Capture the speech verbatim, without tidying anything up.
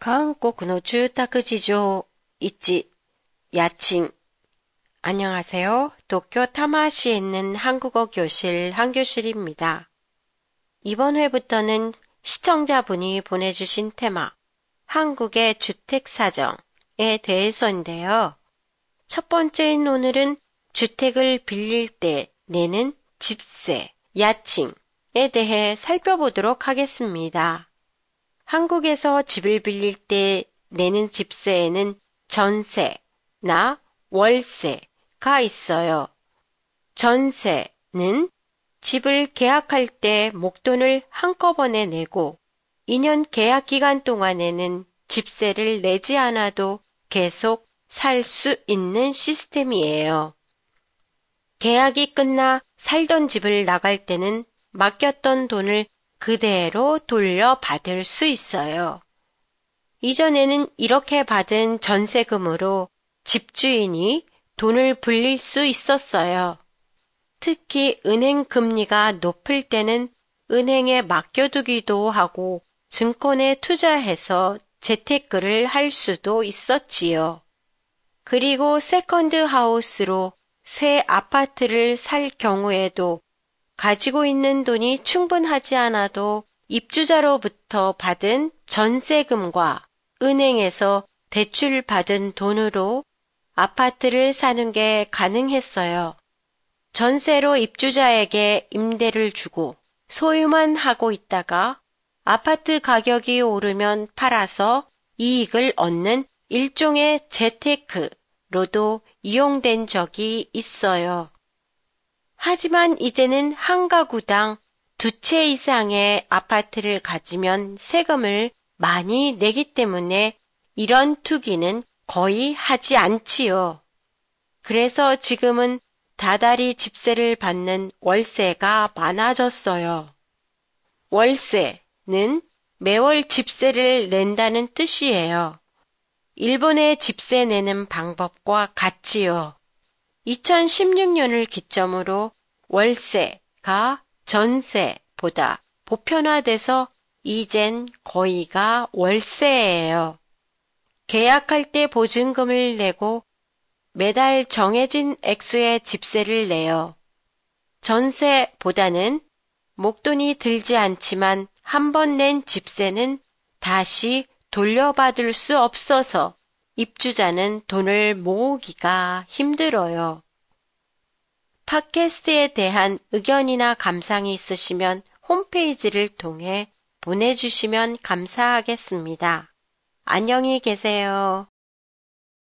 韓国の住宅事情いち、家賃. 안녕하세요. 도쿄 타마시에 있는 한국어 교실 한교실입니다. 이번 회부터는 시청자분이 보내주신 테마, 한국의 주택 사정에 대해서인데요. 첫 번째인 오늘은 주택을 빌릴 때 내는 집세, 야칭에 대해 살펴보도록 하겠습니다. 한국에서 집을 빌릴 때 내는 집세에는 전세나 월세가 있어요. 전세는 집을 계약할 때 목돈을 한꺼번에 내고 이 년 계약 기간 동안에는 집세를 내지 않아도 계속 살 수 있는 시스템이에요. 계약이 끝나 살던 집을 나갈 때는 맡겼던 돈을 그대로 돌려받을 수 있어요. 이전에는 이렇게 받은 전세금으로 집주인이 돈을 불릴 수 있었어요. 특히 은행 금리가 높을 때는 은행에 맡겨두기도 하고 증권에 투자해서 재테크를 할 수도 있었지요. 그리고 세컨드 하우스로 새 아파트를 살 경우에도 가지고 있는 돈이 충분하지 않아도 입주자로부터 받은 전세금과 은행에서 대출받은 돈으로 아파트를 사는 게 가능했어요. 전세로 입주자에게 임대를 주고 소유만 하고 있다가 아파트 가격이 오르면 팔아서 이익을 얻는 일종의 재테크로도 이용된 적이 있어요. 하지만 이제는 한 가구당 두 채 이상의 아파트를 가지면 세금을 많이 내기 때문에 이런 투기는 거의 하지 않지요. 그래서 지금은 다달이 집세를 받는 월세가 많아졌어요. 월세는 매월 집세를 낸다는 뜻이에요. 일본의 집세 내는 방법과 같지요. 이천십육 년을 기점으로 월세가 전세보다 보편화돼서 이젠 거의가 월세예요. 계약할 때 보증금을 내고 매달 정해진 액수의 집세를 내요. 전세보다는 목돈이 들지 않지만 한 번 낸 집세는 다시 돌려받을 수 없어서 입주자는 돈을 모으기가 힘들어요. 팟캐스트에 대한 의견이나 감상이 있으시면 홈페이지를 통해 보내주시면 감사하겠습니다. 안녕히 계세요.